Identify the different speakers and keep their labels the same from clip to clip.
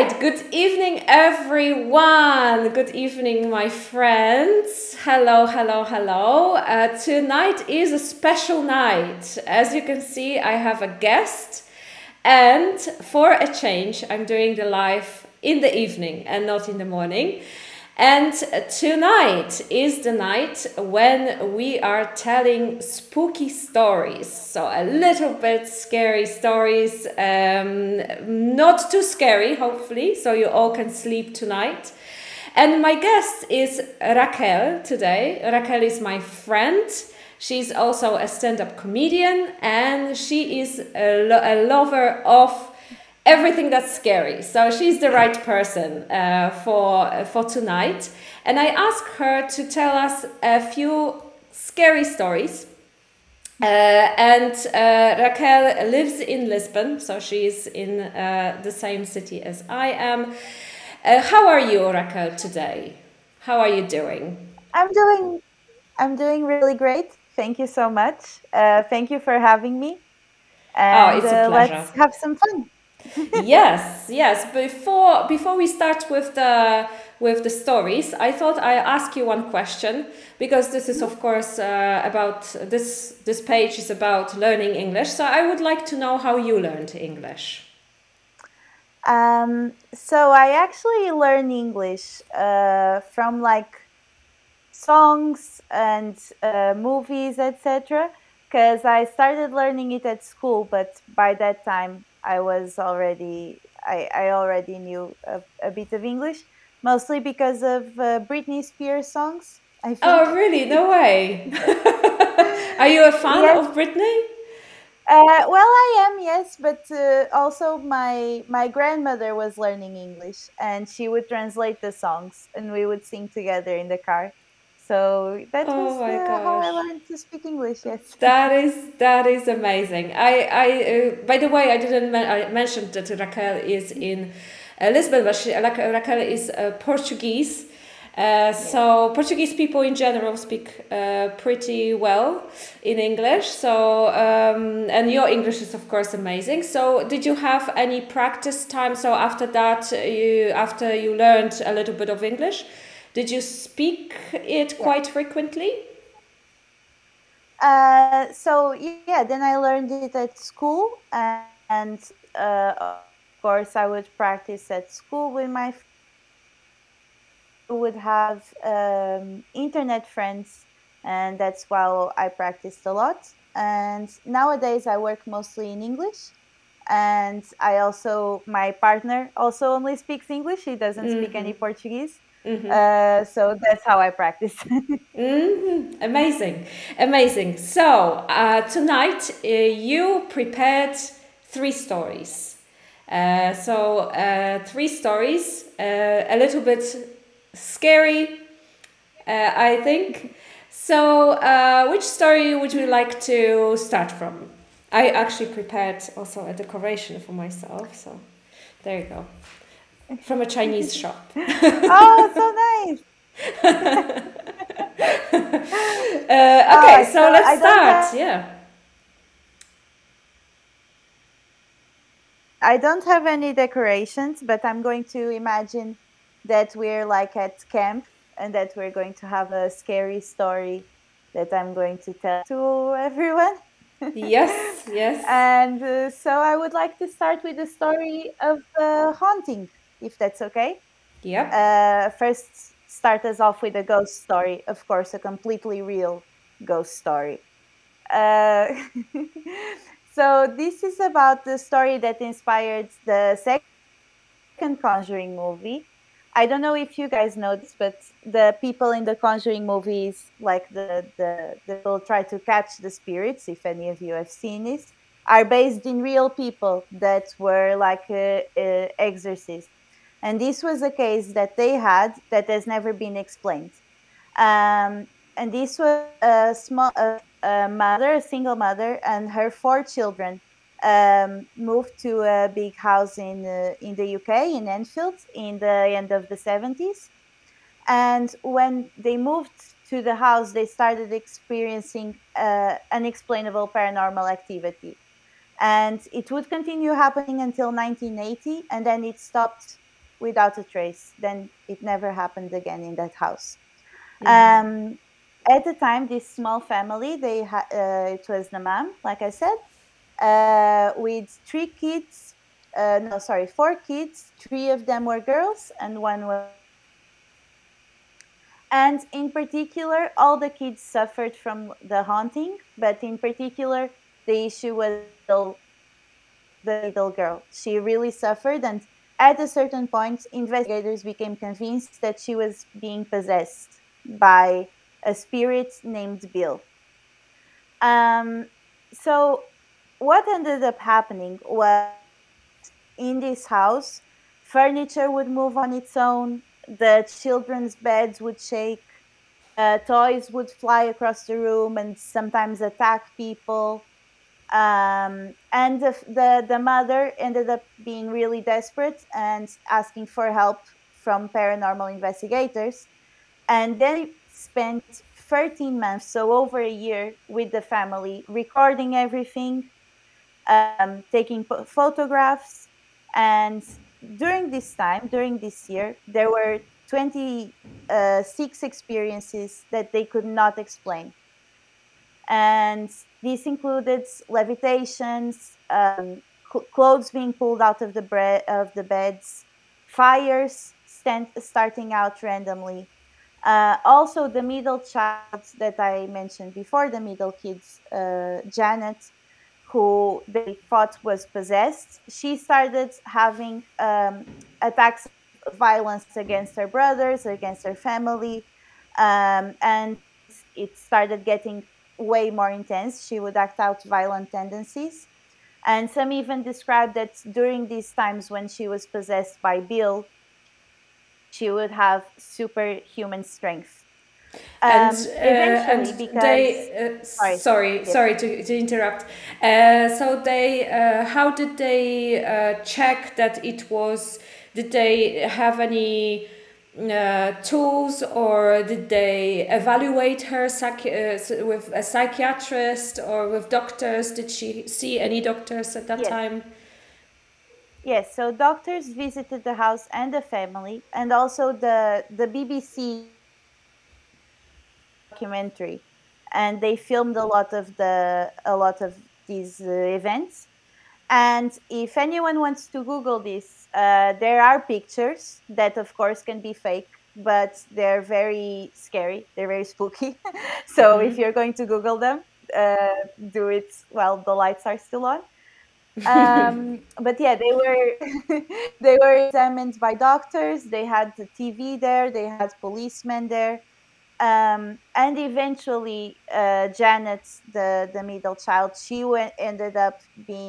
Speaker 1: right, good evening, everyone. Good evening, my friends. Hello, hello, hello. Tonight is a special night. As you can see, I have a guest, and for a change, I'm doing the live in the evening and not in the morning. And tonight is the night when we are telling spooky stories. So a little bit scary stories, not too scary, hopefully, so you all can sleep tonight. And my guest is Raquel today. Raquel is my friend. She's also a stand-up comedian, and she is a lover of everything that's scary. So she's the right person for tonight. And I asked her to tell us a few scary stories. And Raquel lives in Lisbon, so she's in the same city as I am. How are you, Raquel, today? How are you doing?
Speaker 2: I'm doing I'm doing really great. Thank you so much. Thank you for having me,
Speaker 1: Oh,
Speaker 2: and
Speaker 1: it's a pleasure.
Speaker 2: let's have some fun.
Speaker 1: Yes, yes. Before we start with the stories, I thought I ask you one question, because this is of course about this page is about learning English. So I would like to know how you learned English.
Speaker 2: So I actually learn English from like songs and movies, etc. Because I started learning it at school, but by that time I already knew a bit of English, mostly because of Britney Spears songs, I
Speaker 1: Oh,
Speaker 2: think.
Speaker 1: really? No way. Are you a fan
Speaker 2: Yes.
Speaker 1: of Britney?
Speaker 2: Well, I am, yes, but also my grandmother was learning English, and she would translate the songs, and we would sing together in the car. So that
Speaker 1: Oh
Speaker 2: was
Speaker 1: my
Speaker 2: how I
Speaker 1: gosh.
Speaker 2: learned to speak English. Yes.
Speaker 1: That is amazing. By the way, I didn't I mentioned that Raquel is in Lisbon, but Raquel is Portuguese.
Speaker 2: Yes.
Speaker 1: So Portuguese people in general speak pretty well in English. So and your English is of course amazing. So did you have any practice time? So after that, after you learned a little bit of English, did you speak it
Speaker 2: Yeah.
Speaker 1: quite frequently?
Speaker 2: So yeah, then I learned it at school, and of course I would practice at school with my would have internet friends, and that's why I practiced a lot. And nowadays, I work mostly in English. And I also, my partner also only speaks English. He doesn't speak any Portuguese. So that's how I practice.
Speaker 1: Amazing, amazing. So tonight you prepared three stories. Three stories, a little bit scary, I think. So, which story would you like to start from? I actually prepared also a decoration for myself. So, there you go. From a Chinese shop.
Speaker 2: Oh, so nice.
Speaker 1: Okay, so
Speaker 2: So
Speaker 1: let's start. Yeah.
Speaker 2: I don't have any decorations, but I'm going to imagine that we're like at camp and that we're going to have a scary story that I'm going to tell to everyone.
Speaker 1: Yes, yes.
Speaker 2: And so I would like to start with the story of haunting, if that's okay.
Speaker 1: Yep.
Speaker 2: First, start us off with a ghost story, of course, a completely real ghost story. Uh, so this is about the story that inspired the second Conjuring movie. I don't know if you guys know this, but the people in the Conjuring movies, like the people try to catch the spirits, if any of you have seen this, are based in real people that were like exorcists. And this was a case that they had that has never been explained. And this was a mother, a single mother, and her four children moved to a big house in the UK in Enfield in the end of the 70s. And when they moved to the house, they started experiencing unexplainable paranormal activity. And it would continue happening until 1980, and then it stopped without a trace. Then it never happened again in that house.
Speaker 1: Mm-hmm.
Speaker 2: Um, at the time, this small family, it was the mom, like I said, with three kids. No, sorry, four kids. Three of them were girls, and one was. And in particular, all the kids suffered from the haunting, but in particular, the issue was the little girl. She really suffered, and at a certain point, investigators became convinced that she was being possessed by a spirit named Bill. Um, so, what ended up happening was in this house, furniture would move on its own, the children's beds would shake, toys would fly across the room and sometimes attack people. And the mother ended up being really desperate and asking for help from paranormal investigators. And then spent 13 months, so over a year, with the family, recording everything, taking photographs. And during this year, there were 26 experiences that they could not explain. And this included levitations, clothes being pulled out of the beds, fires starting out randomly. Also, the middle child that I mentioned before, the middle kids, Janet, who they thought was possessed, she started having attacks of violence against her brothers, against her family, and it started getting way more intense. She would act out violent tendencies. And some even described that during these times when she was possessed by Bill, she would have superhuman strength.
Speaker 1: And
Speaker 2: Eventually, because,
Speaker 1: they
Speaker 2: sorry, yes,
Speaker 1: sorry to interrupt. So they how did they check that it was? Did they have any tools, or did they evaluate her with a psychiatrist or with doctors? Did she see any doctors at that
Speaker 2: yes,
Speaker 1: time?
Speaker 2: yes. So doctors visited the house and the family, and also the BBC documentary, and they filmed a lot of these events. And if anyone wants to Google this, there are pictures that, of course, can be fake, but they're very scary. They're very spooky. So if you're going to Google them, do it while the lights are still on. But yeah, they were they were examined by doctors. They had the TV there. They had policemen there. And eventually, Janet, the middle child, ended up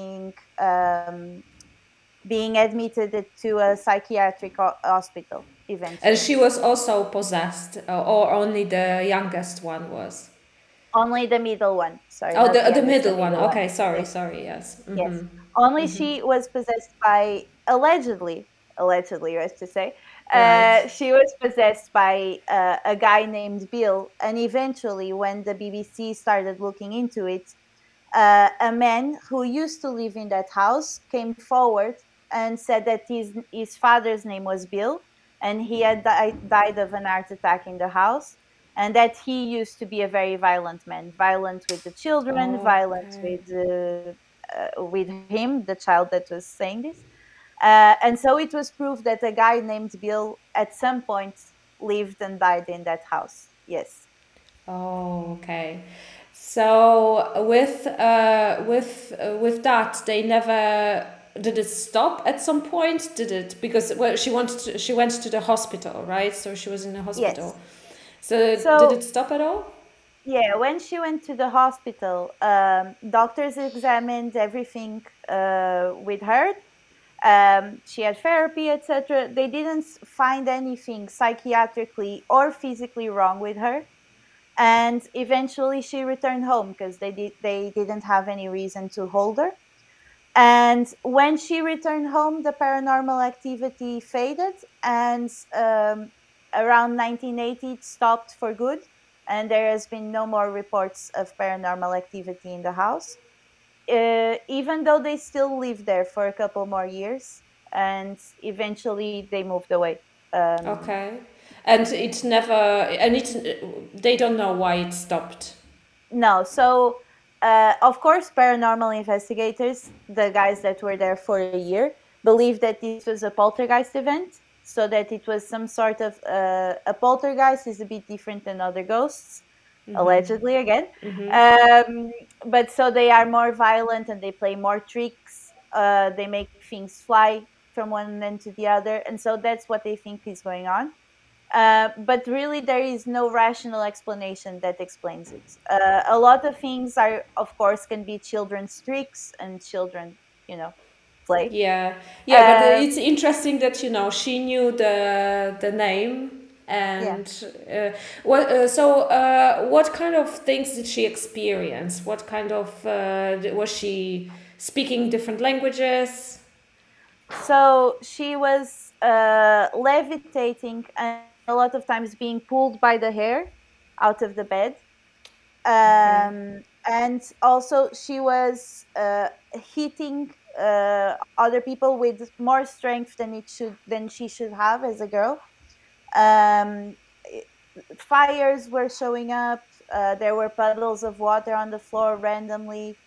Speaker 2: being admitted to a psychiatric hospital
Speaker 1: And
Speaker 2: eventually.
Speaker 1: she was also possessed, or only the youngest one was?
Speaker 2: Only the middle one, sorry,
Speaker 1: Oh,
Speaker 2: not the
Speaker 1: the
Speaker 2: youngest, the
Speaker 1: middle one.
Speaker 2: middle one.
Speaker 1: Okay, sorry,
Speaker 2: Yes,
Speaker 1: sorry. Yes.
Speaker 2: yes.
Speaker 1: Mm-hmm.
Speaker 2: Only she was possessed by, allegedly, let's just say,
Speaker 1: Right.
Speaker 2: she was possessed by a guy named Bill. And eventually, when the BBC started looking into it, a man who used to live in that house came forward and said that his father's name was Bill, and he had died of an heart attack in the house, and that he used to be a very violent man, violent with the children, violent
Speaker 1: Okay.
Speaker 2: with him, the child that was saying this. And so it was proved that a guy named Bill at some point lived and died in that house. Yes.
Speaker 1: Oh, okay. So with that, they never did it stop at some point? Did it? Because well, she went to the hospital, right? So she was in the
Speaker 2: Yes.
Speaker 1: hospital. So did
Speaker 2: So
Speaker 1: it stop at all?
Speaker 2: yeah, when she went to the hospital, doctors examined everything with her. She had therapy, etc. They didn't find anything psychiatrically or physically wrong with her, and eventually she returned home because they didn't have any reason to hold her. And when she returned home, the paranormal activity faded, and around 1980, it stopped for good. And there has been no more reports of paranormal activity in the house, even though they still live there for a couple more years. and eventually they moved away.
Speaker 1: Okay. And it never, and they don't know why it stopped.
Speaker 2: No, so of course, paranormal investigators, the guys that were there for a year, believed that this was a poltergeist event, so that it was some sort of a poltergeist is a bit different than other ghosts, allegedly again. But so they are more violent and they play more tricks. They make things fly from one end to the other, and so that's what they think is going on. But really, there is no rational explanation that explains it. A lot of things are, of course, can be children's tricks and children, play.
Speaker 1: Yeah, yeah, but
Speaker 2: Uh,
Speaker 1: it's interesting that she knew the name
Speaker 2: yeah.
Speaker 1: and what kind of things did she experience? What kind of was she speaking different languages?
Speaker 2: So she was levitating and a lot of times being pulled by the hair out of the bed. And also she was hitting other people with more strength than she should have as a girl. um, Fires were showing up. There were puddles of water on the floor randomly.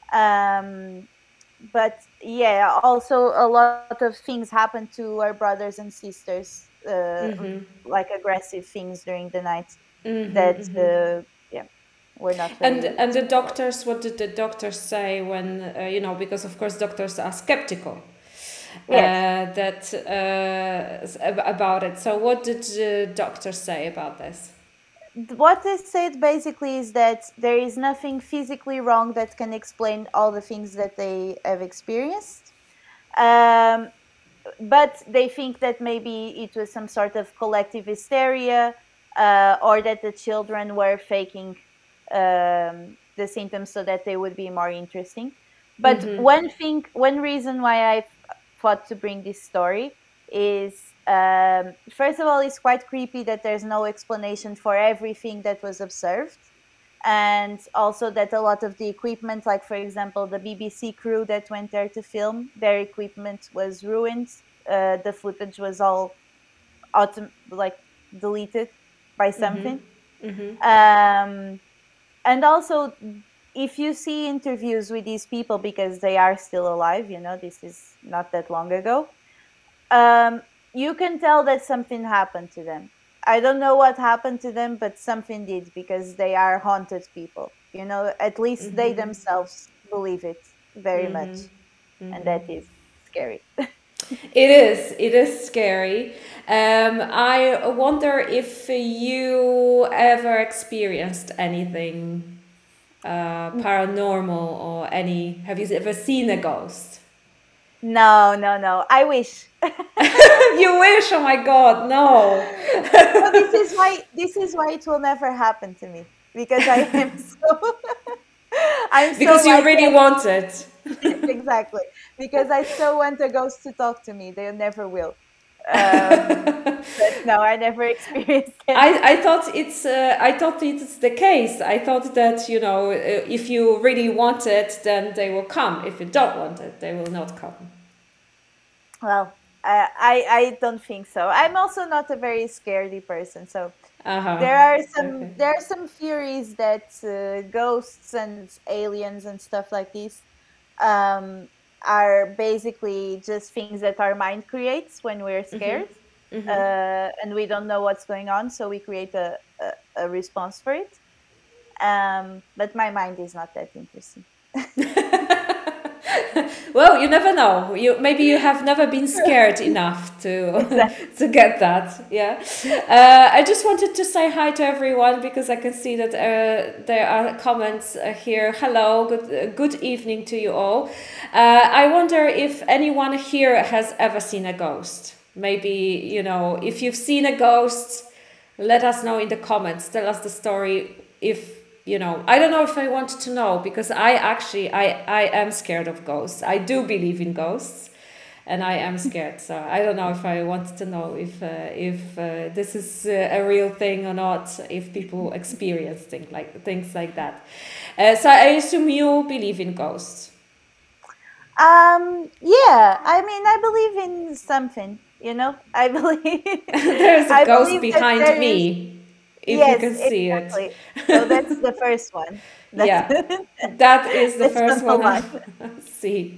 Speaker 2: But yeah, also a lot of things happened to our brothers and sisters, like aggressive things during the night that yeah, were not very.
Speaker 1: And the doctors, what did the doctors say when because of course doctors are skeptical
Speaker 2: Yes.
Speaker 1: about it. So what did the doctors say about this?
Speaker 2: What they said basically is that there is nothing physically wrong that can explain all the things that they have experienced. But they think that maybe it was some sort of collective hysteria, or that the children were faking the symptoms so that they would be more interesting. But one reason why I thought to bring this story is, first of all, it's quite creepy that there's no explanation for everything that was observed. And also that a lot of the equipment, like for example the BBC crew that went there to film, their equipment was ruined. The footage was all deleted by something. And also, if you see interviews with these people, because they are still alive, this is not that long ago, you can tell that something happened to them. I don't know what happened to them, but something did, because they are haunted people. At least they themselves believe it very much. And that is scary.
Speaker 1: It is scary. I wonder if you ever experienced anything paranormal or have you ever seen a ghost?
Speaker 2: No. I wish.
Speaker 1: You wish? Oh my God, no.
Speaker 2: So this is why it will never happen to me, because I am so
Speaker 1: because you really want it.
Speaker 2: Exactly, because I so want a ghost to talk to me. They never will. But no, I never experienced it.
Speaker 1: I thought it's the case. I thought that if you really want it, then they will come. If you don't want it, they will not come.
Speaker 2: Well, I don't think so. I'm also not a very scaredy person, so there are some theories that ghosts and aliens and stuff like this are basically just things that our mind creates when we're scared. And we don't know what's going on, so we create a response for it. But my mind is not that interesting.
Speaker 1: Well, you never know. Maybe you have never been scared enough to get that. Yeah. I just wanted to say hi to everyone, because I can see that there are comments here. Hello, good evening to you all. I wonder if anyone here has ever seen a ghost. Maybe if you've seen a ghost, let us know in the comments. Tell us the story. If I don't know if I want to know, because I am scared of ghosts. I do believe in ghosts, and I am scared. So I don't know if I want to know if this is a real thing or not. If people experience things like that. So I assume you believe in ghosts.
Speaker 2: Yeah, I mean, I believe something, I believe.
Speaker 1: There's a
Speaker 2: I
Speaker 1: ghost
Speaker 2: believe that
Speaker 1: behind
Speaker 2: there is.
Speaker 1: me, if you
Speaker 2: Yes,
Speaker 1: can see it.
Speaker 2: exactly. So that's the first one. That's
Speaker 1: Yeah, that is the
Speaker 2: that's
Speaker 1: first
Speaker 2: number
Speaker 1: one I
Speaker 2: one.
Speaker 1: see.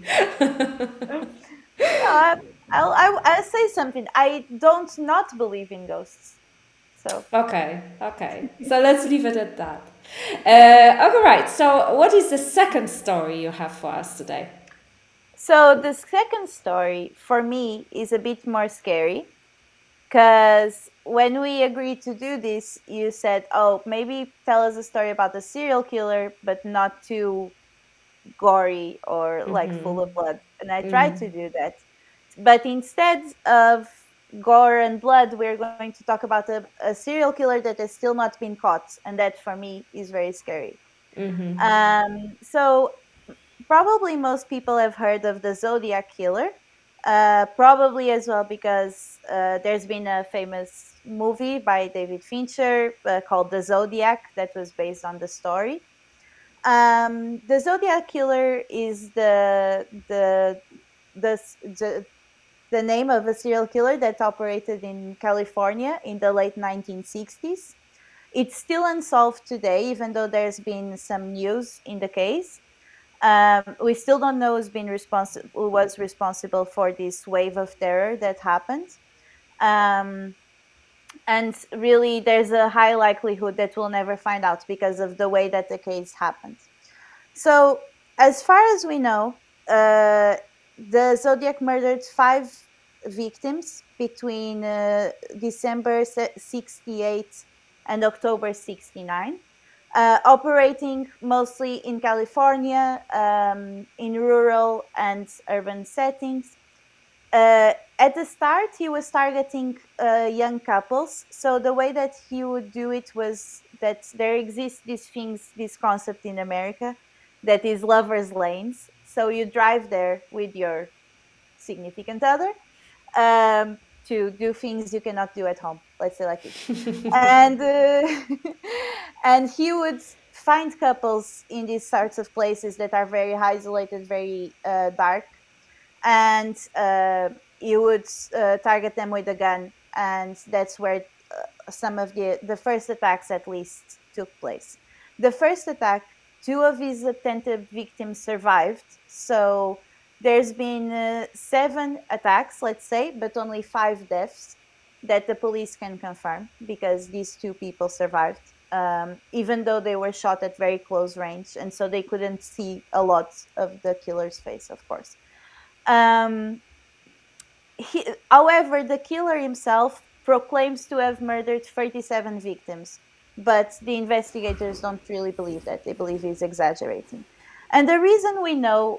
Speaker 2: No, I'll say something. I don't not believe in ghosts. So
Speaker 1: Okay, okay. So let's leave it at that. Okay, right. So, what is the second story you have for us today?
Speaker 2: so the second story for me is a bit more scary because when we agreed to do this, you said, "Oh, maybe tell us a story about a serial killer, but not too gory or like full of blood." And I tried to do that. But instead of gore and blood, we're going to talk about a serial killer that has still not been caught. And that for me is very scary. So probably most people have heard of the Zodiac Killer. Probably as well because there's been a famous movie by David Fincher called The Zodiac that was based on the story. The Zodiac Killer is the the the name of a serial killer that operated in California in the late 1960s. It's still unsolved today, even though there's been some news in the case. We still don't know who was responsible for this wave of terror that happened. Um, and really, there's a high likelihood that we'll never find out because of the way that the case happened. So, as far as we know, the Zodiac murdered 5 victims between December 68 and October 69, operating mostly in California, in rural and urban settings. At the start, he was targeting young couples. So the way that he would do it was that there exists this concept in America that is lovers' lanes. So you drive there with your significant other to do things you cannot do at home. Let's say like this. And and he would find couples in these sorts of places that are very isolated, very dark, and you would target them with a gun, and that's where some of the first attacks at least took place. The first attack, 2 of his attempted victims survived, so there's been 7 attacks, let's say, but only 5 deaths that the police can confirm because these 2 people survived, even though they were shot at very close range, and so they couldn't see a lot of the killer's face, of course. Um, However, the killer himself proclaims to have murdered 37 victims, but the investigators don't really believe that. They believe he's exaggerating. And the reason we know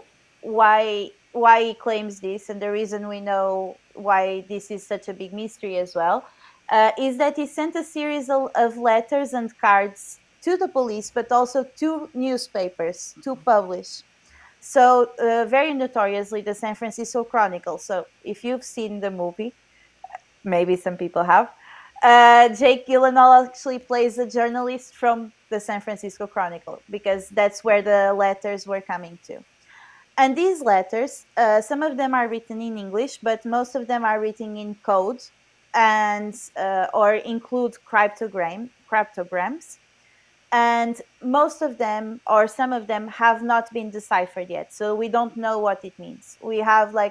Speaker 2: why he claims this, and the reason we know why this is such a big mystery as well, is that he sent a series of letters and cards to the police, but also to newspapers to publish. So, very notoriously, the San Francisco Chronicle. So, if you've seen the movie, maybe some people have, Jake Gyllenhaal actually plays a journalist from the San Francisco Chronicle because that's where the letters were coming to. And these letters, some of them are written in English, but most of them are written in code and or include cryptograms, and most of them or some of them have not been deciphered yet, so we don't know what it means. We have like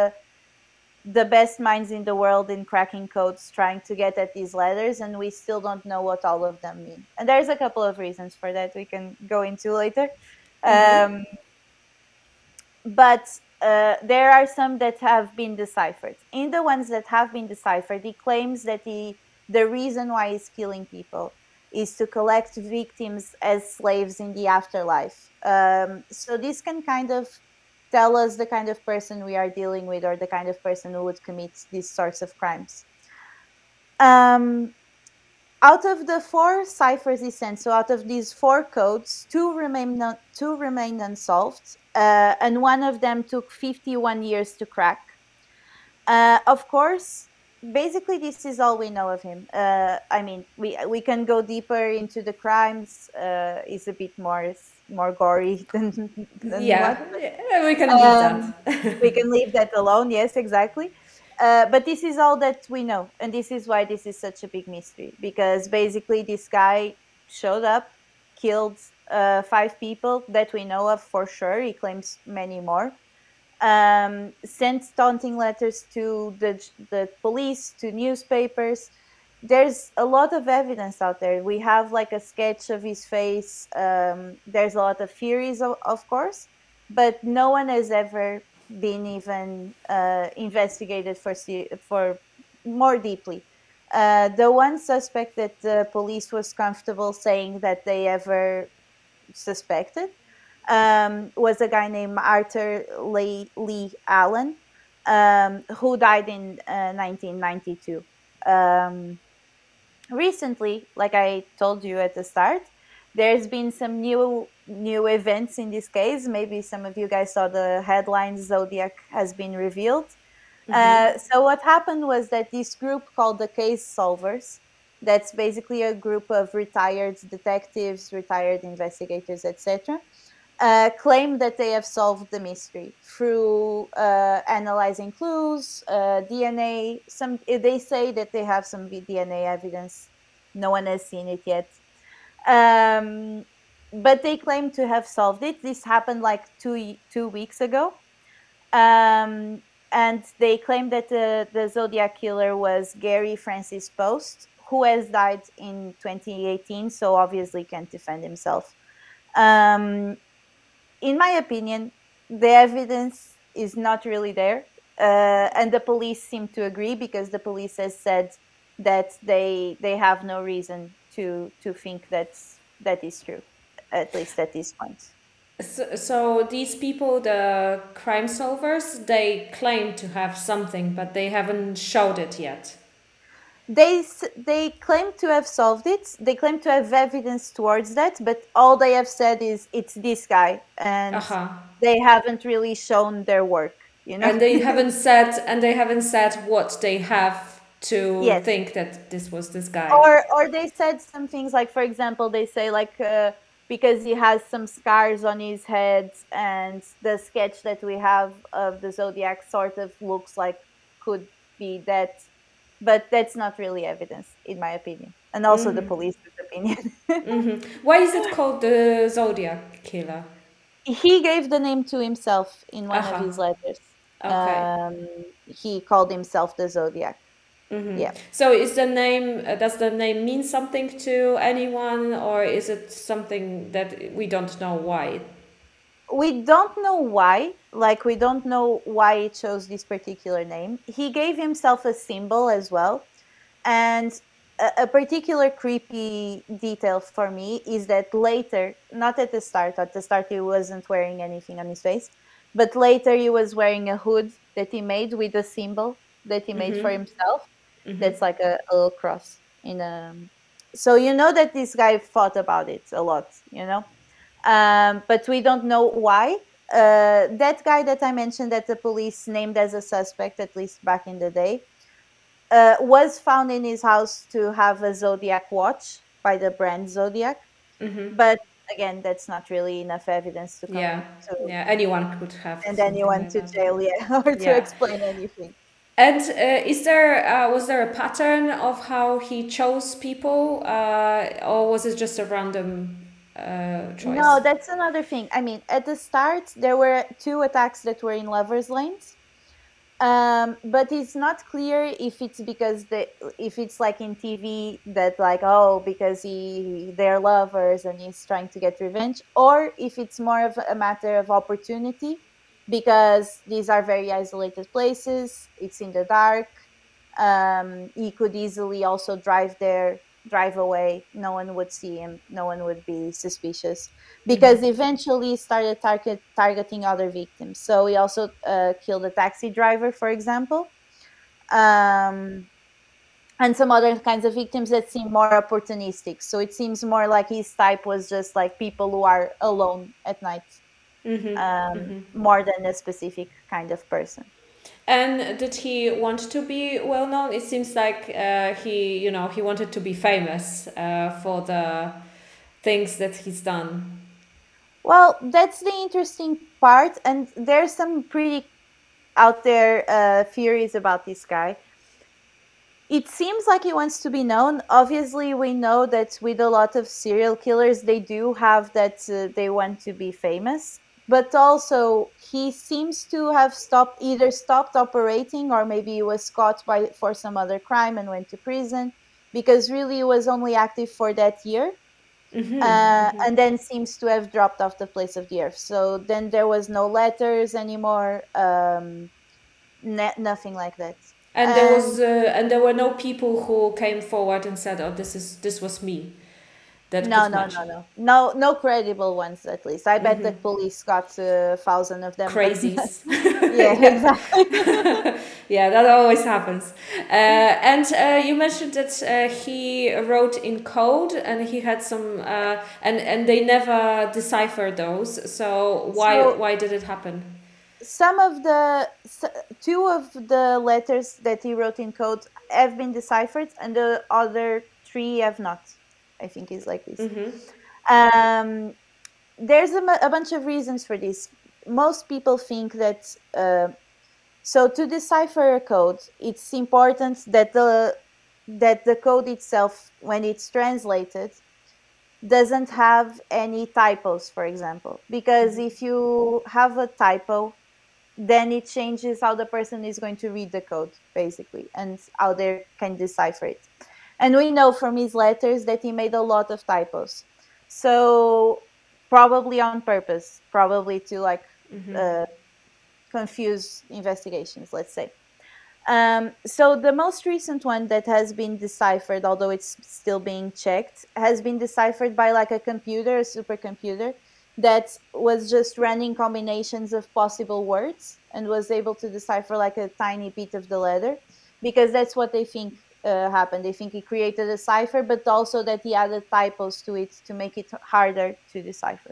Speaker 2: the best minds in the world in cracking codes trying to get at these letters, and we still don't know what all of them mean, and there's a couple of reasons for that we can go into later. But there are some that have been deciphered. In the ones that have been deciphered, he claims that the reason why he's killing people is to collect victims as slaves in the afterlife. So this can kind of tell us the kind of person we are dealing with, or the kind of person who would commit these sorts of crimes. Out of the 4 ciphers he sent, so out of these 4 codes, 2 remain unsolved, and one of them took 51 years to crack. Of course, basically this is all we know of him. I mean, we can go deeper into the crimes. It's a bit more gory than
Speaker 1: Yeah,
Speaker 2: what.
Speaker 1: we can leave that.
Speaker 2: We can leave that alone. Yes, exactly. But this is all that we know, and this is why this is such a big mystery, because basically this guy showed up, killed 5 people that we know of for sure. He claims many more. Sent taunting letters to the police, to newspapers. There's a lot of evidence out there. We have like a sketch of his face. There's a lot of theories, of course, but no one has ever been even investigated for more deeply. The one suspect that the police was comfortable saying that they ever suspected was a guy named Arthur Lee Allen, who died in 1992. Recently, like I told you at the start, there's been some new events in this case. Maybe some of you guys saw the headlines, Zodiac has been revealed. So what happened was that this group called the Case Solvers, that's basically a group of retired detectives, retired investigators, etc., claim that they have solved the mystery through analyzing clues, DNA. They say that they have some DNA evidence. No one has seen it yet. But they claim to have solved it. This happened like two weeks ago. And they claim that the Zodiac killer was Gary Francis Post, who has died in 2018, so obviously can't defend himself. In my opinion, the evidence is not really there. And the police seem to agree, because the police has said that they have no reason to think that is true, at least at this point.
Speaker 1: So these people, the crime solvers, they claim to have something, but they haven't showed it yet.
Speaker 2: They claim to have solved it. They claim to have evidence towards that, but all they have said is it's this guy, and they haven't really shown their work, you know.
Speaker 1: And they haven't said what they have to think that this was this guy.
Speaker 2: Or they said some things like, for example, they say like because he has some scars on his head, and the sketch that we have of the Zodiac sort of looks like could be that. But that's not really evidence, in my opinion, and also the police's opinion.
Speaker 1: Why is it called the Zodiac killer?
Speaker 2: He gave the name to himself in one of his letters.
Speaker 1: Okay.
Speaker 2: He called himself the Zodiac. Yeah.
Speaker 1: So is the name, does the name mean something to anyone, or is it something that we don't know why?
Speaker 2: We don't know why. Like, we don't know why he chose this particular name. He gave himself a symbol as well. And a particular creepy detail for me is that later, not at the start he wasn't wearing anything on his face, but later he was wearing a hood that he made with a symbol that he made for himself. That's like a little cross in a. So you know that this guy thought about it a lot, you know. But we don't know why. That guy that I mentioned that the police named as a suspect, at least back in the day, was found in his house to have a Zodiac watch by the brand Zodiac. But again, that's not really enough evidence to come.
Speaker 1: Yeah, anyone could have.
Speaker 2: And anyone
Speaker 1: like
Speaker 2: to
Speaker 1: that.
Speaker 2: Jail, or to explain anything.
Speaker 1: And was there a pattern of how he chose people, or was it just a random choice?
Speaker 2: No, that's another thing. I mean, at the start, there were 2 attacks that were in lovers' lanes. But it's not clear if it's because if it's like in TV that like, oh, because they're lovers and he's trying to get revenge, or if it's more of a matter of opportunity, because these are very isolated places. It's in the dark. He could easily also drive away. No one would see him. No one would be suspicious, because eventually he started targeting other victims. So he also killed a taxi driver, for example, and some other kinds of victims that seem more opportunistic. So it seems more like his type was just like people who are alone at night, more than a specific kind of person.
Speaker 1: And did he want to be well known? It seems like he wanted to be famous for the things that he's done.
Speaker 2: Well, that's the interesting part, and there's some pretty out there theories about this guy. It seems like he wants to be known. Obviously, we know that with a lot of serial killers, they do have that they want to be famous. But also, he seems to have either stopped operating, or maybe he was caught for some other crime and went to prison, because really he was only active for that year. And then seems to have dropped off the face of the earth. So then there was no letters anymore, nothing like that.
Speaker 1: And there were no people who came forward and said, "Oh, this was me."
Speaker 2: No credible ones, at least. I bet the police got 1,000 of them.
Speaker 1: Crazies.
Speaker 2: Yeah, exactly.
Speaker 1: Yeah, that always happens. And you mentioned that he wrote in code, and he had some, and they never deciphered those. So why did it happen?
Speaker 2: Two of the letters that he wrote in code have been deciphered, and the other 3 have not. I think it's like this. There's a bunch of reasons for this. Most people think that so to decipher a code, it's important that the code itself, when it's translated, doesn't have any typos, for example. Because if you have a typo, then it changes how the person is going to read the code, basically, and how they can decipher it. And we know from his letters that he made a lot of typos. So probably on purpose, probably to confuse investigations, let's say. So the most recent one that has been deciphered, although it's still being checked, has been deciphered by like a computer, a supercomputer, that was just running combinations of possible words and was able to decipher like a tiny bit of the letter, because that's what they think happened. They think he created a cipher, but also that he added typos to it to make it harder to decipher.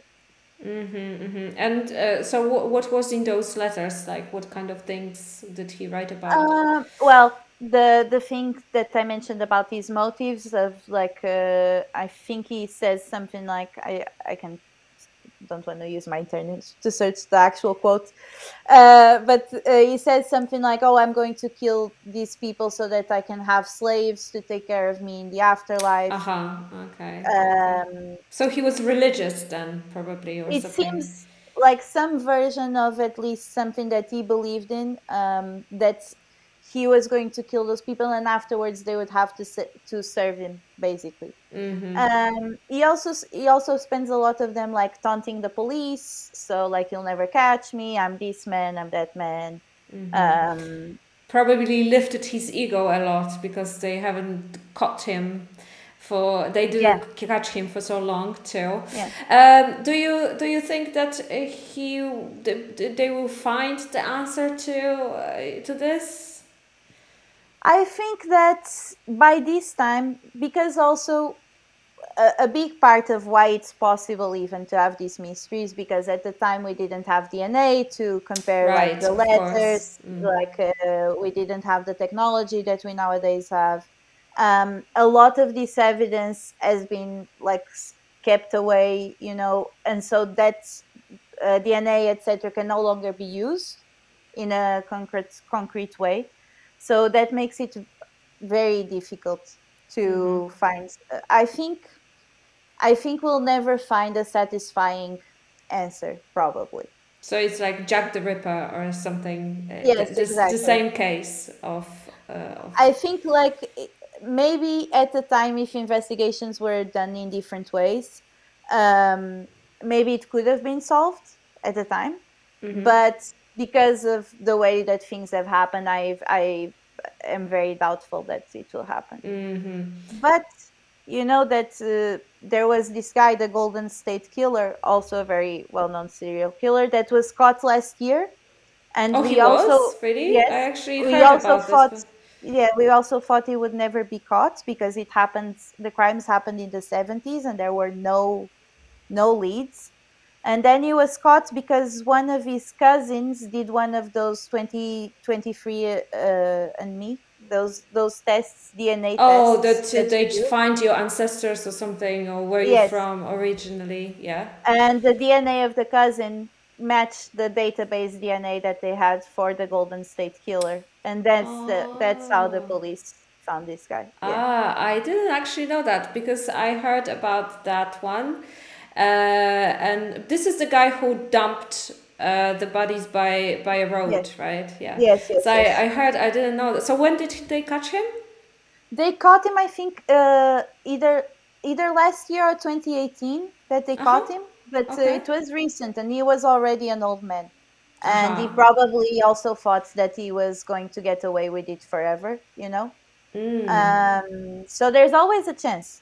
Speaker 1: And so what was in those letters? Like, what kind of things did he write about?
Speaker 2: Well, the thing that I mentioned about his motives of I think he says something like, I don't want to use my internet to search the actual quote, but he says something like, "Oh, I'm going to kill these people so that I can have slaves to take care of me in the afterlife."
Speaker 1: Okay. So he was religious then, probably, or
Speaker 2: it
Speaker 1: something.
Speaker 2: Seems like some version of at least something that he believed in, that he was going to kill those people, and afterwards they would have to serve him, basically. He also spends a lot of them like taunting the police, so like, "You'll never catch me, I'm this man, I'm that man."
Speaker 1: Probably lifted his ego a lot, because they haven't caught him they didn't catch him for so long too. Do you think that they will find the answer to this?
Speaker 2: I think that by this time, because also a big part of why it's possible even to have these mysteries, because at the time we didn't have DNA to compare like the letters, we didn't have the technology that we nowadays have. A lot of this evidence has been like kept away, and so that DNA, etc., can no longer be used in a concrete way. So that makes it very difficult to find. I think we'll never find a satisfying answer, probably.
Speaker 1: So it's like Jack the Ripper or something.
Speaker 2: Yes, exactly.
Speaker 1: The same case of.
Speaker 2: I think maybe at the time, if investigations were done in different ways, maybe it could have been solved at the time. But because of the way that things have happened, I am very doubtful that it will happen. But that there was this guy, the Golden State Killer, also a very well-known serial killer, that was caught last year. And
Speaker 1: he was? Really?
Speaker 2: Yes,
Speaker 1: I actually heard about this.
Speaker 2: Yeah, we also thought he would never be caught, because the crimes happened in the 70s and there were no leads. And then he was caught because one of his cousins did one of those 23 and Me, those tests, DNA tests.
Speaker 1: Oh, that they find your ancestors or something, or where you're from originally, yeah.
Speaker 2: And the DNA of the cousin matched the database DNA that they had for the Golden State Killer, and that's how the
Speaker 1: Oh.
Speaker 2: police found this guy. Yeah.
Speaker 1: Ah, I didn't actually know that because I heard about that one. And this is the guy who dumped the bodies by a
Speaker 2: Yes.
Speaker 1: road, right? Yeah.
Speaker 2: Yes.
Speaker 1: So
Speaker 2: Yes. Yes.
Speaker 1: I heard, I didn't know that. So when did they catch him?
Speaker 2: They caught him, I think, either last year or 2018 that they
Speaker 1: Uh-huh.
Speaker 2: caught him, but
Speaker 1: Okay.
Speaker 2: it was recent, and he was already an old man, and he
Speaker 1: Aha.
Speaker 2: probably also thought that he was going to get away with it forever, you know. So there's always a chance.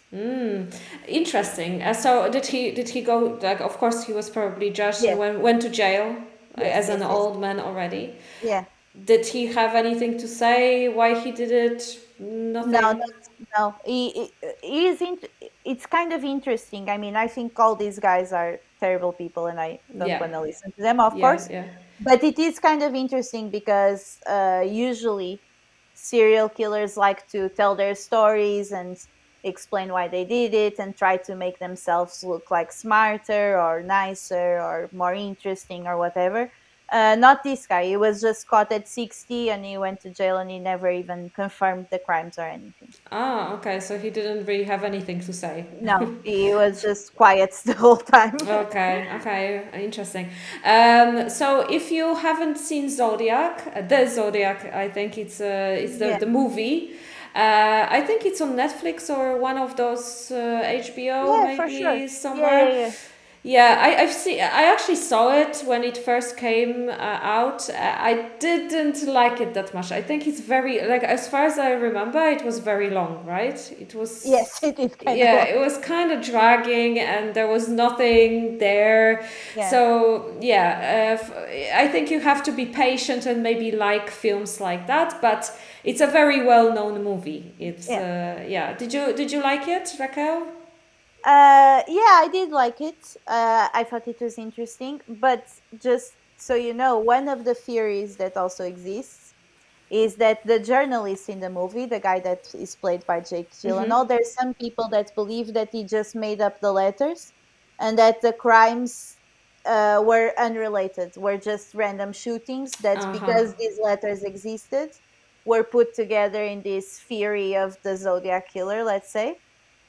Speaker 1: Interesting. So did he go, like, of course he was probably judged and
Speaker 2: Yes,
Speaker 1: went to jail
Speaker 2: yes,
Speaker 1: as an
Speaker 2: yes, yes.
Speaker 1: old man already.
Speaker 2: Yeah.
Speaker 1: Did he have anything to say why he did it?
Speaker 2: No,
Speaker 1: Nothing.
Speaker 2: no. He is. It's kind of interesting. I mean, I think all these guys are terrible people, and I don't
Speaker 1: Yeah.
Speaker 2: want to listen to them, of
Speaker 1: Yeah,
Speaker 2: course.
Speaker 1: yeah.
Speaker 2: But it is kind of interesting because usually serial killers like to tell their stories and explain why they did it and try to make themselves look like smarter or nicer or more interesting or whatever. Not this guy. He was just caught at 60 and he went to jail and he never even confirmed the crimes or anything.
Speaker 1: Ah, okay. So he didn't really have anything to say.
Speaker 2: No, he was just quiet the whole time.
Speaker 1: Okay, okay, interesting. So if you haven't seen Zodiac, the Zodiac, I think it's the
Speaker 2: Yeah,
Speaker 1: the movie. I think it's on Netflix or one of those HBO
Speaker 2: yeah, for sure.
Speaker 1: maybe
Speaker 2: Yeah,
Speaker 1: somewhere.
Speaker 2: yeah, yeah.
Speaker 1: Yeah, I've seen. I actually saw it when it first came out. I didn't like it that much. I think it's very, like, as far as I remember, it was very long, right? It
Speaker 2: Yes,
Speaker 1: was,
Speaker 2: it is kind of
Speaker 1: yeah,
Speaker 2: long.
Speaker 1: it was kind of dragging, and there was nothing there.
Speaker 2: Yeah,
Speaker 1: So yeah, I think you have to be patient and maybe like films like that. But it's a very well-known movie. It's
Speaker 2: yeah.
Speaker 1: yeah. Did you like it, Raquel?
Speaker 2: Yeah, I did like it. I thought it was interesting, but just so you know, one of the theories that also exists is that the journalist in the movie, the guy that is played by Jake Gyllenhaal, there's some people that believe that he just made up the letters, and that the crimes were unrelated, were just random shootings. That
Speaker 1: Uh huh.
Speaker 2: because these letters existed, were put together in this theory of the Zodiac killer, let's say,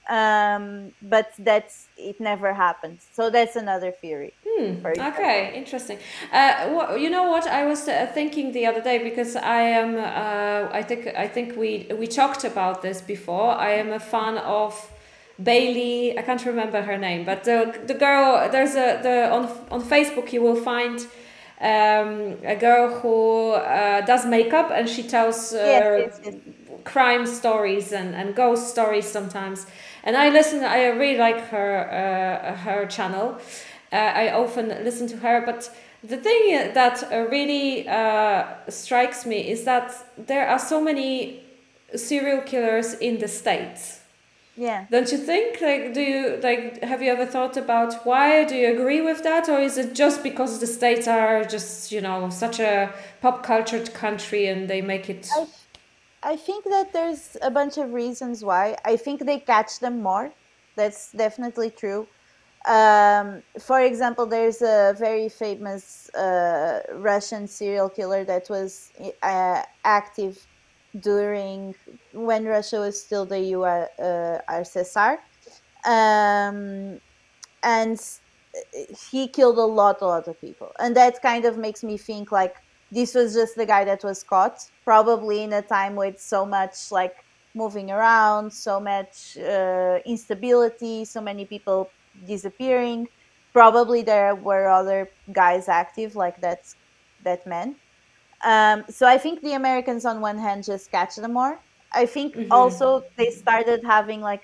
Speaker 2: but that's it never happened. So that's another theory, for example.
Speaker 1: Okay, interesting. You know what I was thinking the other day, because I am. I think we talked about this before. I am a fan of Bailey. I can't remember her name, but the girl. There's on Facebook you will find a girl who does makeup, and she tells
Speaker 2: Yes, yes, yes.
Speaker 1: crime stories and ghost stories sometimes. And I really like her channel. I often listen to her, but the thing that really strikes me is that there are so many serial killers in the States.
Speaker 2: Yeah.
Speaker 1: Don't you think? Like, do you like? Have you ever thought about why? Do you agree with that, or is it just because the States are just, such a pop cultured country and they make it?
Speaker 2: I I think that there's a bunch of reasons why. I think they catch them more. That's definitely true. For example, there's a very famous Russian serial killer that was active during when Russia was still the USSR, um, and he killed a lot of people, and that kind of makes me think like this was just the guy that was caught, probably in a time with so much like moving around, so much instability, so many people disappearing. Probably there were other guys active like that man. So I think the Americans on one hand just catch them more. I think also they started having like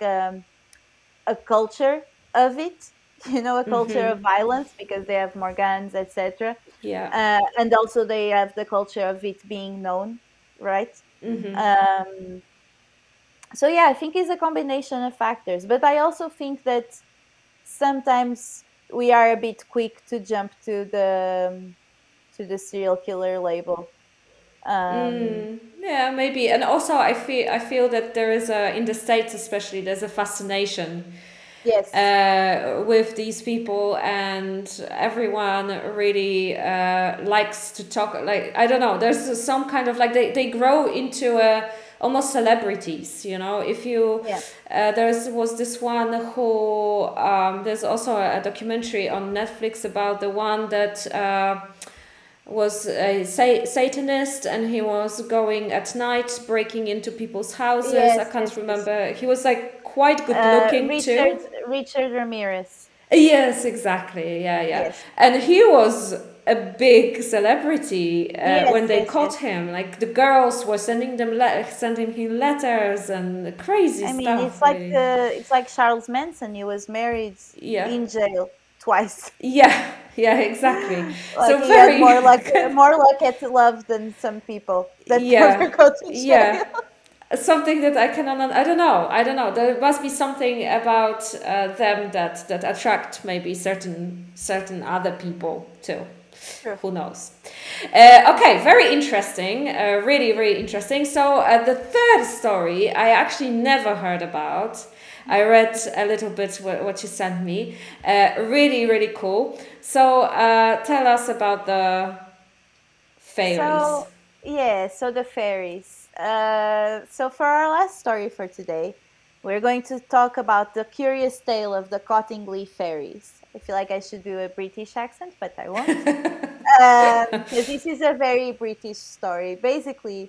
Speaker 2: a culture of it, a culture of violence because they have more guns, etc.
Speaker 1: Yeah.
Speaker 2: And also they have the culture of it being known, right? Um, so yeah, I think it's a combination of factors, but I also think that sometimes we are a bit quick to jump to the serial killer label.
Speaker 1: Yeah, maybe. And also I feel that there is a, in the States especially, there's a fascination
Speaker 2: Yes.
Speaker 1: with these people, and everyone really likes to talk. Like, I don't know, there's some kind of like they grow into almost celebrities, you know. If you
Speaker 2: Yeah.
Speaker 1: there was this one who there's also a documentary on Netflix about the one that was a Satanist, and he was going at night breaking into people's houses. I
Speaker 2: Yes,
Speaker 1: can't
Speaker 2: yes, yes.
Speaker 1: remember. He was like quite good looking
Speaker 2: Richard
Speaker 1: too.
Speaker 2: Richard Ramirez.
Speaker 1: Yes, exactly. Yeah, yeah.
Speaker 2: Yes.
Speaker 1: And he was a big celebrity when
Speaker 2: Yes,
Speaker 1: they
Speaker 2: yes,
Speaker 1: caught
Speaker 2: yes.
Speaker 1: him. Like the girls were sending him letters and crazy
Speaker 2: I mean,
Speaker 1: stuff. Really.
Speaker 2: it's like Charles Manson. He was married
Speaker 1: Yeah.
Speaker 2: in jail twice.
Speaker 1: Yeah. Yeah. Exactly.
Speaker 2: Like
Speaker 1: So
Speaker 2: he had
Speaker 1: very
Speaker 2: more luck at love than some people that never
Speaker 1: yeah.
Speaker 2: go to
Speaker 1: Yeah.
Speaker 2: jail.
Speaker 1: Something that I cannot. I don't know. I don't know. There must be something about them that attract maybe certain other people too.
Speaker 2: True.
Speaker 1: Who knows? Okay, very interesting. Really, really interesting. So the third story I actually never heard about. I read a little bit what you sent me. Really, really cool. So tell us about the fairies.
Speaker 2: So yeah, so the fairies. So for our last story for today, we're going to talk about the curious tale of the Cottingley fairies. I feel like I should do a British accent, but I won't. Because this is a very British story. Basically,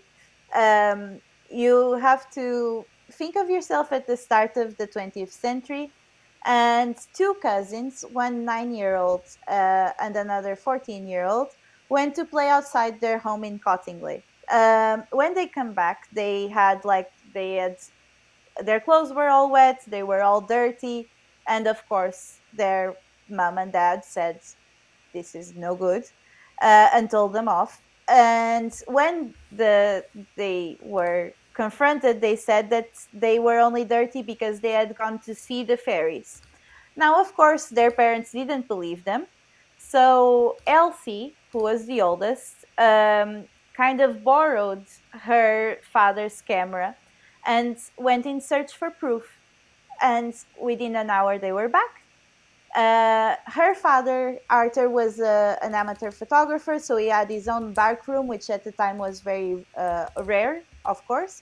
Speaker 2: you have to think of yourself at the start of the 20th century, and two cousins, one 9-year-old and another 14-year-old, went to play outside their home in Cottingley. When they come back, they had their clothes were all wet, they were all dirty, and of course, their mom and dad said, "This is no good," and told them off. And when they were confronted, they said that they were only dirty because they had gone to see the fairies. Now, of course, their parents didn't believe them. So Elsie, who was the oldest, kind of borrowed her father's camera and went in search for proof. And within an hour, they were back. Her father, Arthur, was an amateur photographer, so he had his own darkroom, which at the time was very rare, of course.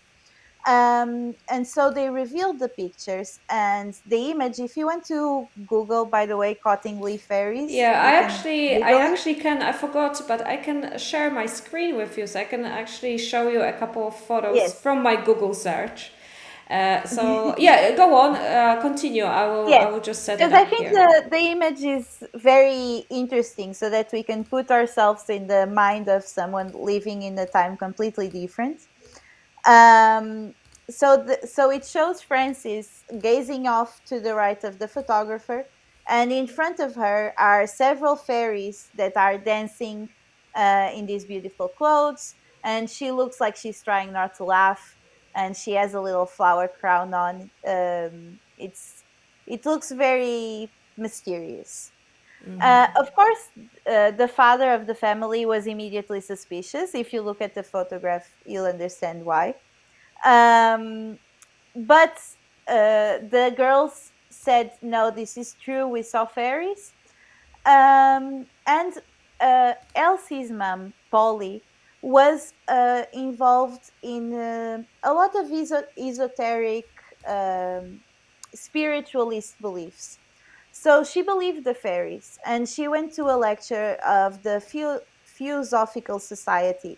Speaker 2: And so they revealed the pictures and the image. If you went to Google, by the way, Cottingley fairies,
Speaker 1: Yeah,
Speaker 2: you can
Speaker 1: I
Speaker 2: Google it.
Speaker 1: actually can. I forgot, but I can share my screen with you, so I can actually show you a couple of photos
Speaker 2: Yes.
Speaker 1: from my Google search. So yeah, go on, continue. I
Speaker 2: Yes,
Speaker 1: will just set it
Speaker 2: because I
Speaker 1: up
Speaker 2: think
Speaker 1: here.
Speaker 2: the image is very interesting so that we can put ourselves in the mind of someone living in a time completely different. Um, so it shows Frances gazing off to the right of the photographer, and in front of her are several fairies that are dancing in these beautiful clothes, and she looks like she's trying not to laugh, and she has a little flower crown on. It looks very mysterious. Of course, the father of the family was immediately suspicious. If you look at the photograph, you'll understand why. Um, but the girls said, "No, this is true. We saw fairies." And Elsie's mom, Polly, was involved in a lot of esoteric spiritualist beliefs. So she believed the fairies, and she went to a lecture of the Theosophical Society.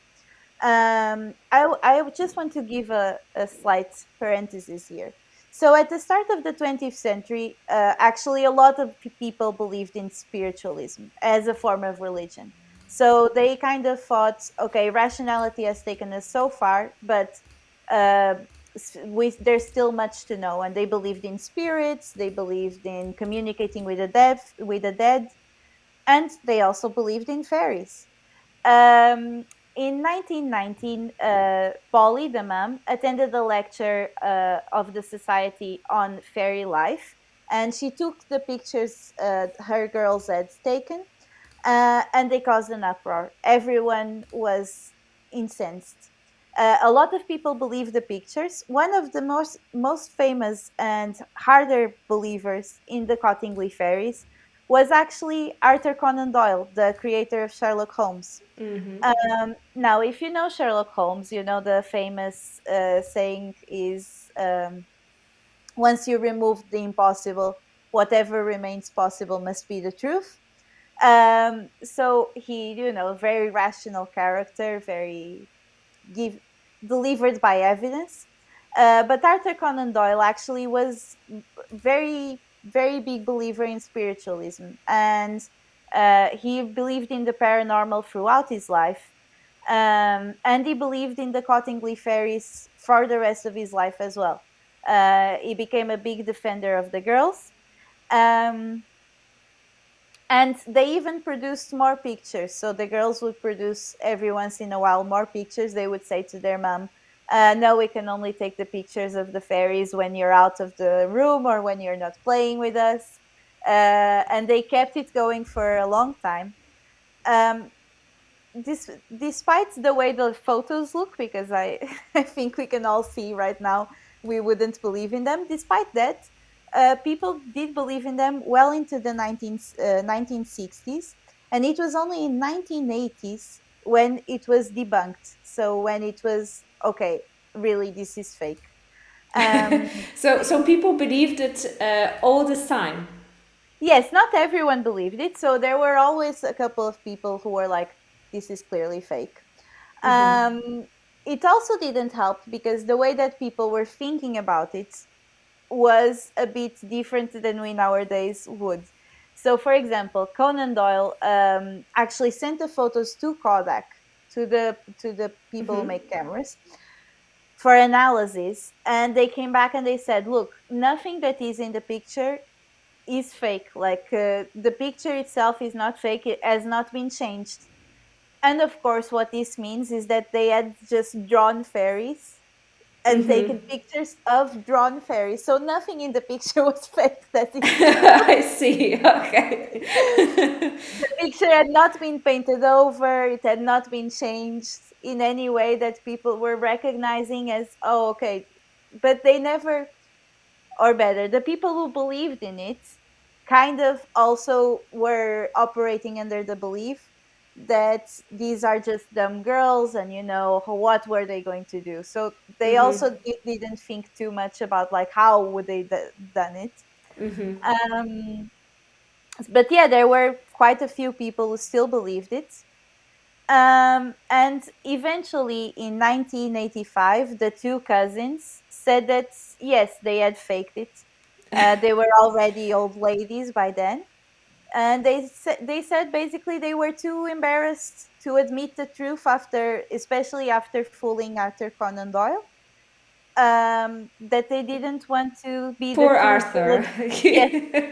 Speaker 2: I just want to give a slight parenthesis here. So, at the start of the 20th century, actually, a lot of people believed in spiritualism as a form of religion. So, they kind of thought, okay, rationality has taken us so far, but uh, there's still much to know. And they believed in spirits, they believed in communicating with the dead, and they also believed in fairies. In 1919, Polly, the mom, attended a lecture of the Society on Fairy Life, and she took the pictures her girls had taken, and they caused an uproar. Everyone was incensed. A lot of people believe the pictures. One of the most famous and harder believers in the Cottingley fairies was actually Arthur Conan Doyle, the creator of Sherlock Holmes. Now, if you know Sherlock Holmes, you know the famous saying is, once you remove the impossible, whatever remains possible must be the truth. So he, very rational character, very give delivered by evidence. But Arthur Conan Doyle actually was very, very big believer in spiritualism, and he believed in the paranormal throughout his life. And he believed in the Cottingley fairies for the rest of his life as well. He became a big defender of the girls. Um, and they even produced more pictures. So the girls would produce every once in a while more pictures. They would say to their mom, no, we can only take the pictures of the fairies when you're out of the room or when you're not playing with us. And they kept it going for a long time. Despite the way the photos look, because I, I think we can all see right now, we wouldn't believe in them. Despite that, people did believe in them well into the 1960s, and it was only in 1980s when it was debunked. So when it was, okay, really, this is fake.
Speaker 1: So people believed it all the time.
Speaker 2: Yes, not everyone believed it. So there were always a couple of people who were like, this is clearly fake. It also didn't help because the way that people were thinking about it was a bit different than we nowadays would. So, for example, Conan Doyle actually sent the photos to Kodak, to the people who make cameras, for analysis, and they came back and they said, look, nothing that is in the picture is fake. Like the picture itself is not fake, it has not been changed. And of course, what this means is that they had just drawn fairies and taken pictures of drawn fairies. So nothing in the picture was fake. That is
Speaker 1: I see. Okay.
Speaker 2: the picture had not been painted over. It had not been changed in any way that people were recognizing as, oh, okay. But they never, or better, the people who believed in it kind of also were operating under the belief that these are just dumb girls and what were they going to do. So they also didn't think too much about like how would they done it. But yeah, there were quite a few people who still believed it. And eventually in 1985 the two cousins said that yes, they had faked it. They were already old ladies by then. And they said basically they were too embarrassed to admit the truth especially after fooling Arthur Conan Doyle, that they didn't want to be
Speaker 1: Poor
Speaker 2: the two
Speaker 1: Arthur.
Speaker 2: Yes.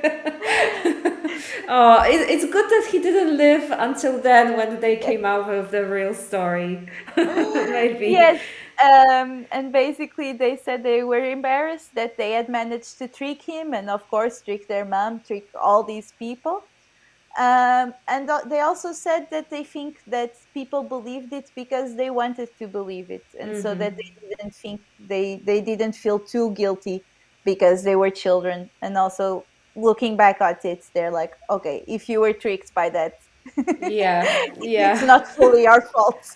Speaker 1: Oh, it's good that he didn't live until then when they came out with the real story. Maybe.
Speaker 2: Yes. And basically they said they were embarrassed that they had managed to trick him and of course trick their mom, trick all these people. And they also said that they think that people believed it because they wanted to believe it, and so that they didn't feel too guilty because they were children. And also looking back at it, they're like, okay, if you were tricked by that,
Speaker 1: Yeah,
Speaker 2: it's not fully our fault.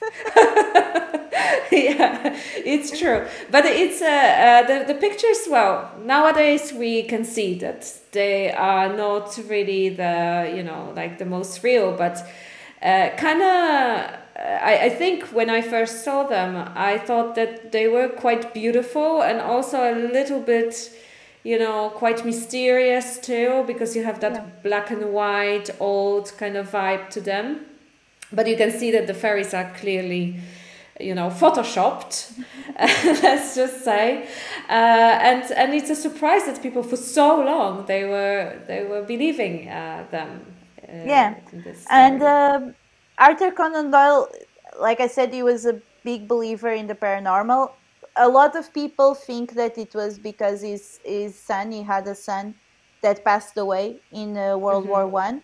Speaker 1: Yeah, it's true. But it's the pictures. Well, nowadays we can see that they are not really like the most real, but kind of. I think when I first saw them, I thought that they were quite beautiful and also a little bit, quite mysterious too, because you have that black and white old kind of vibe to them. But you can see that the fairies are clearly, photoshopped, let's just say, and it's a surprise that people for so long they were believing them. In this story.
Speaker 2: And Arthur Conan Doyle, like I said, he was a big believer in the paranormal. A lot of people think that it was because he had a son that passed away in World War I.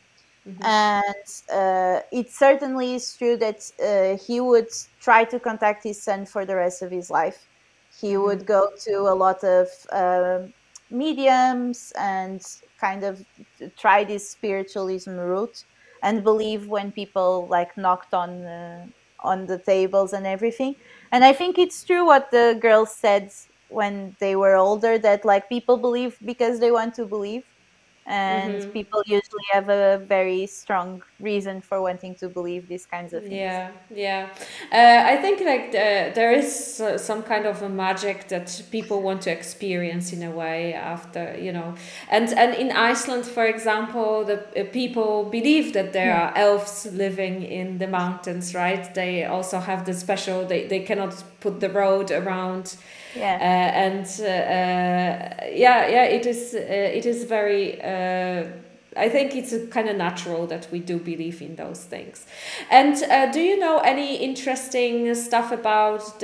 Speaker 2: And it certainly is true that he would try to contact his son for the rest of his life. He would go to a lot of mediums and kind of try this spiritualism route and believe when people like knocked on the tables and everything. And I think it's true what the girls said when they were older, that like people believe because they want to believe, and people usually have a very strong reason for wanting to believe these kinds of things.
Speaker 1: Yeah, yeah. I think like there is some kind of a magic that people want to experience in a way after, and in Iceland, for example, the people believe that there
Speaker 2: Yeah.
Speaker 1: are elves living in the mountains, right? They also have the special. They cannot put the road around.
Speaker 2: Yeah.
Speaker 1: And yeah, it is very. I think it's kind of natural that we do believe in those things. And do you know any interesting stuff about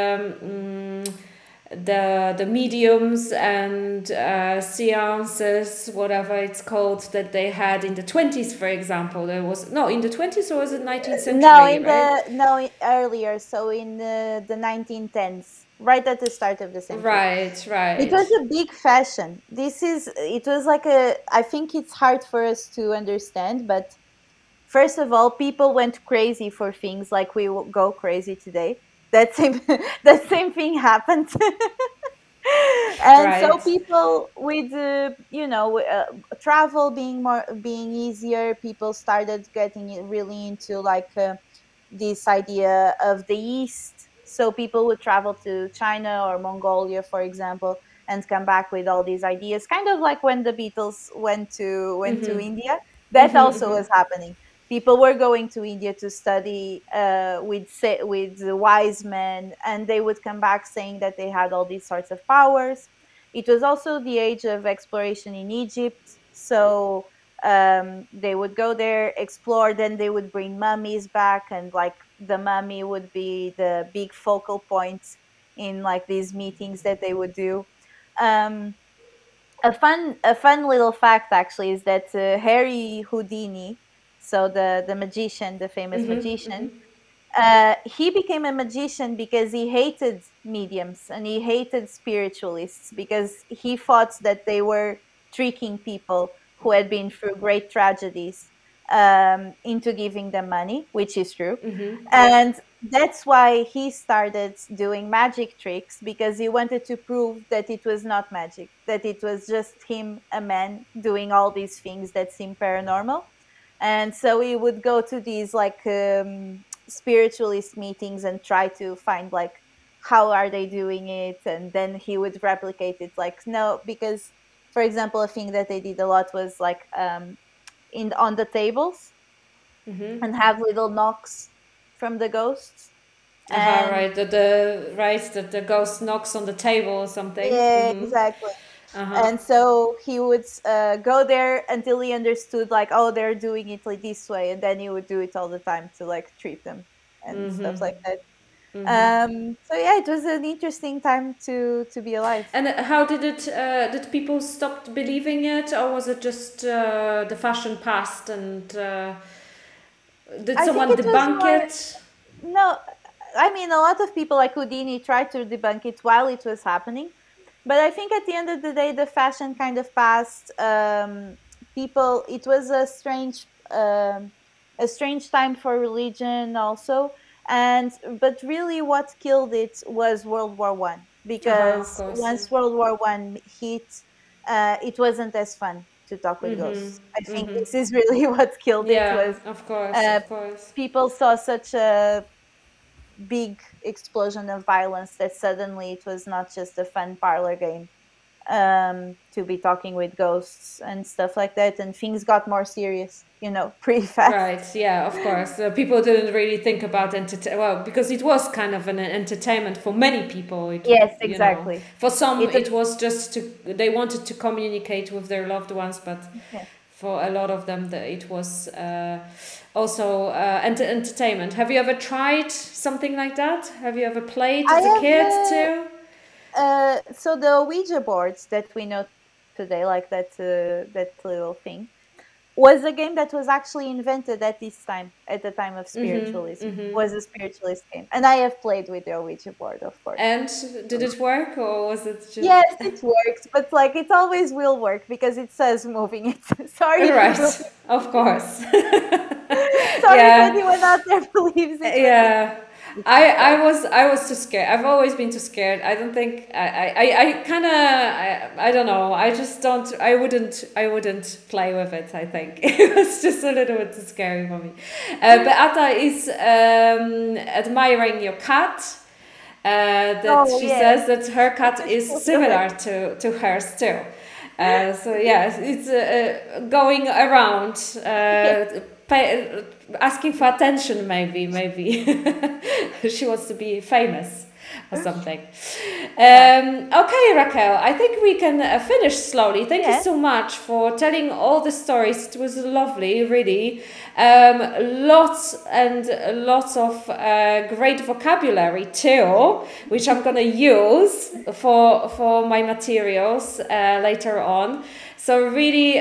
Speaker 1: the mediums and seances, whatever it's called, that they had in the 20s, for example? There was no in the 20s, or was it 19th
Speaker 2: No,
Speaker 1: century, right?
Speaker 2: earlier, so in the 1910s, right at the start of the century.
Speaker 1: Right,
Speaker 2: It
Speaker 1: right.
Speaker 2: was a big fashion. It was like I think it's hard for us to understand, but first of all, people went crazy for things like we will go crazy today. That same, that same thing happened. And so
Speaker 1: Right.
Speaker 2: people with travel being easier, people started getting it really into like this idea of the East. So people would travel to China or Mongolia, for example, and come back with all these ideas, kind of like when the Beatles went to India. That also was happening. People were going to India to study with the wise men, and they would come back saying that they had all these sorts of powers. It was also the age of exploration in Egypt, so they would go there, explore, then they would bring mummies back, and like the mummy would be the big focal point in like these meetings that they would do. Um, a fun little fact actually is that Harry Houdini, so the magician, the famous magician, he became a magician because he hated mediums and he hated spiritualists because he thought that they were tricking people who had been through great tragedies into giving them money, which is true. And that's why he started doing magic tricks, because he wanted to prove that it was not magic, that it was just him, a man, doing all these things that seem paranormal. And so he would go to these like spiritualist meetings and try to find like how are they doing it, and then he would replicate it like no, because for example a thing that they did a lot was like in on the tables and have little knocks from the ghosts.
Speaker 1: Aha,
Speaker 2: And
Speaker 1: right. The ghost knocks on the table or something.
Speaker 2: yeah, exactly. And so he would go there until he understood like, oh, they're doing it like this way, and then he would do it all the time to like treat them and stuff like that. So yeah, it was an interesting time to be alive.
Speaker 1: And how did it? Did people stop believing it, or was it just the fashion passed and did
Speaker 2: I think
Speaker 1: someone
Speaker 2: it was
Speaker 1: debunk
Speaker 2: more
Speaker 1: it?
Speaker 2: no. I mean, a lot of people like Houdini tried to debunk it while it was happening, but I think at the end of the day, the fashion kind of passed. People, it was a strange time for religion also, and but really, what killed it was World War I,
Speaker 1: Aha, of
Speaker 2: because
Speaker 1: course.
Speaker 2: once World War I hit, it wasn't as fun to talk with ghosts. I think this is really what killed it
Speaker 1: Yeah,
Speaker 2: was
Speaker 1: of course,
Speaker 2: uh,
Speaker 1: of course.
Speaker 2: people saw such a big explosion of violence that suddenly it was not just a fun parlor game to be talking with ghosts and stuff like that, and things got more serious, pretty
Speaker 1: Right,
Speaker 2: fast.
Speaker 1: yeah, of course. People didn't really think about entertain. Well, because it was kind of an entertainment for many people.
Speaker 2: Yes, exactly.
Speaker 1: For some,
Speaker 2: It
Speaker 1: it was just they wanted to communicate with their loved ones, but
Speaker 2: yeah.
Speaker 1: for a lot of them, it was also entertainment. Have you ever tried something like that? Have you ever played
Speaker 2: I
Speaker 1: as a
Speaker 2: have
Speaker 1: kid too?
Speaker 2: so the Ouija boards that we know today, like that little thing. was a game that was actually invented at this time, at the time of
Speaker 1: Mm-hmm,
Speaker 2: spiritualism.
Speaker 1: mm-hmm.
Speaker 2: Was a spiritualist game, and I have played with the Ouija board, of course.
Speaker 1: And did it work, or was it just
Speaker 2: Yes, it works, but like it always will work because it says moving it. Sorry if it will.
Speaker 1: right? Of course.
Speaker 2: Sorry if
Speaker 1: Yeah,
Speaker 2: anyone out there believes it.
Speaker 1: yeah.
Speaker 2: But
Speaker 1: I was too scared. I've always been too scared. I don't think I kind of I don't know. I just don't. I wouldn't play with it. I think it was just a little bit too scary for me. Beata is admiring your cat. That
Speaker 2: oh
Speaker 1: she
Speaker 2: yeah,
Speaker 1: says that her cat is similar to hers too. So yeah, it's going around, asking for attention. Maybe she wants to be famous or something. Okay, Raquel, I think we can finish slowly. Thank you so much for telling all the stories. It was lovely, really. Lots and lots of great vocabulary too, which I'm gonna use for my materials later on. So really,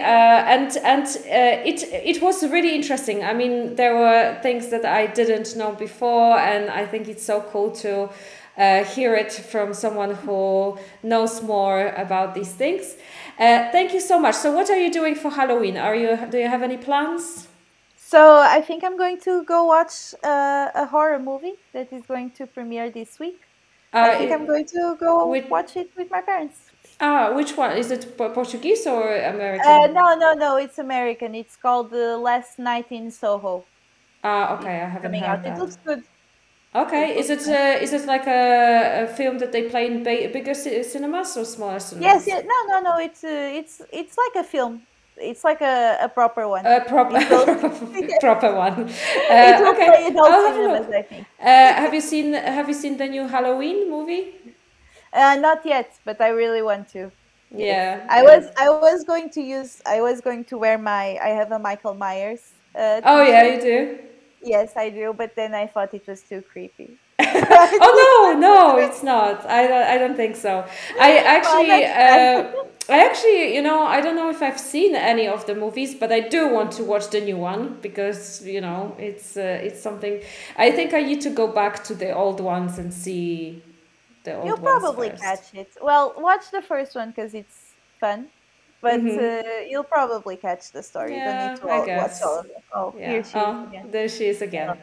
Speaker 1: it was really interesting. I mean, there were things that I didn't know before, and I think it's so cool to hear it from someone who knows more about these things. Thank you so much. So, what are you doing for Halloween? Do you have any plans?
Speaker 2: So I think I'm going to go watch a horror movie that is going to premiere this week. I think I'm going to go watch it with my parents.
Speaker 1: Which one? Is it Portuguese or American?
Speaker 2: No, it's American. It's called The Last Night in Soho.
Speaker 1: Okay, I haven't heard that.
Speaker 2: It looks good.
Speaker 1: Okay, is it like a film that they play in bigger cinemas or smaller cinemas?
Speaker 2: Yes, yeah, no. It's like a film. It's like a proper one.
Speaker 1: A proper proper one.
Speaker 2: It will play in all cinemas, I think.
Speaker 1: Have you seen the new Halloween movie?
Speaker 2: Not yet, but I really want to.
Speaker 1: Yeah.
Speaker 2: I was going to wear I have a Michael Myers.
Speaker 1: Oh yeah, you do.
Speaker 2: Yes, I do, but then I thought it was too creepy.
Speaker 1: Oh no, it's not. I don't think so. I actually, I don't know if I've seen any of the movies, but I do want to watch the new one because it's something. I think I need to go back to the old ones and see the old ones.
Speaker 2: You'll probably catch it. Well, watch the first one because it's fun. But you'll probably catch the story.
Speaker 1: Yeah,
Speaker 2: you don't need to watch all of it. Oh,
Speaker 1: yeah.
Speaker 2: Here she is again.
Speaker 1: There she is again.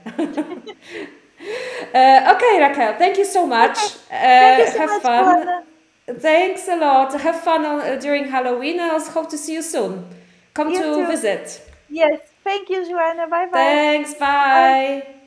Speaker 1: Okay, Raquel, thank you so much.
Speaker 2: Thank you so
Speaker 1: have
Speaker 2: much,
Speaker 1: fun.
Speaker 2: Joanna.
Speaker 1: Thanks a lot. Have fun during Halloween. I hope to see you soon. Come
Speaker 2: You
Speaker 1: to
Speaker 2: too.
Speaker 1: visit.
Speaker 2: Yes. Thank you, Joanna. Bye-bye.
Speaker 1: Thanks. Bye.